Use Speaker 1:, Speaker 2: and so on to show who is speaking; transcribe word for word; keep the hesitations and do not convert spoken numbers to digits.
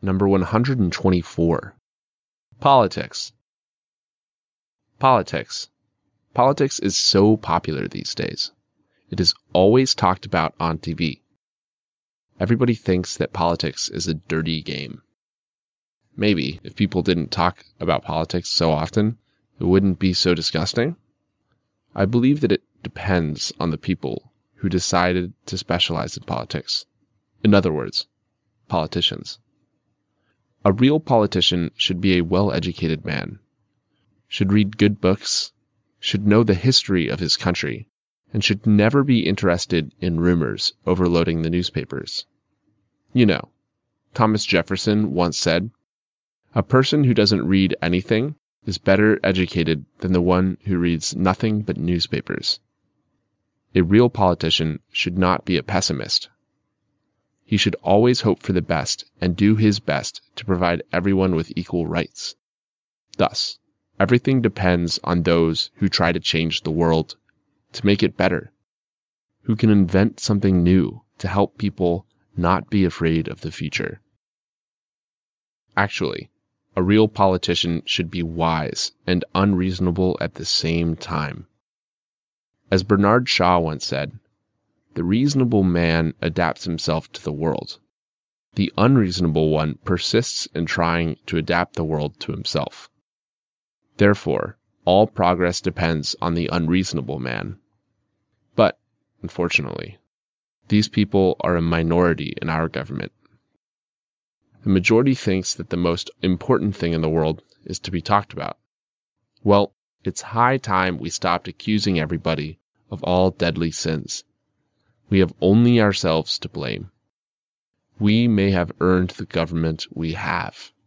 Speaker 1: Number one hundred twenty-four. Politics. Politics. Politics is so popular these days. It is always talked about on T V. Everybody thinks that politics is a dirty game. Maybe if people didn't talk about politics so often, it wouldn't be so disgusting. I believe that it depends on the people who decided to specialize in politics. In other words, politicians. A real politician should be a well-educated man, should read good books, should know the history of his country, and should never be interested in rumors overloading the newspapers. You know, Thomas Jefferson once said, "A person who doesn't read anything is better educated than the one who reads nothing but newspapers." A real politician should not be a pessimist. He should always hope for the best and do his best to provide everyone with equal rights. Thus, everything depends on those who try to change the world, to make it better, who can invent something new to help people not be afraid of the future. Actually, a real politician should be wise and unreasonable at the same time. As Bernard Shaw once said, "The reasonable man adapts himself to the world. The unreasonable one persists in trying to adapt the world to himself." Therefore, all progress depends on the unreasonable man. But, unfortunately, these people are a minority in our government. The majority thinks that the most important thing in the world is to be talked about. Well, it's high time we stopped accusing everybody of all deadly sins. We have only ourselves to blame. We may have earned the government we have,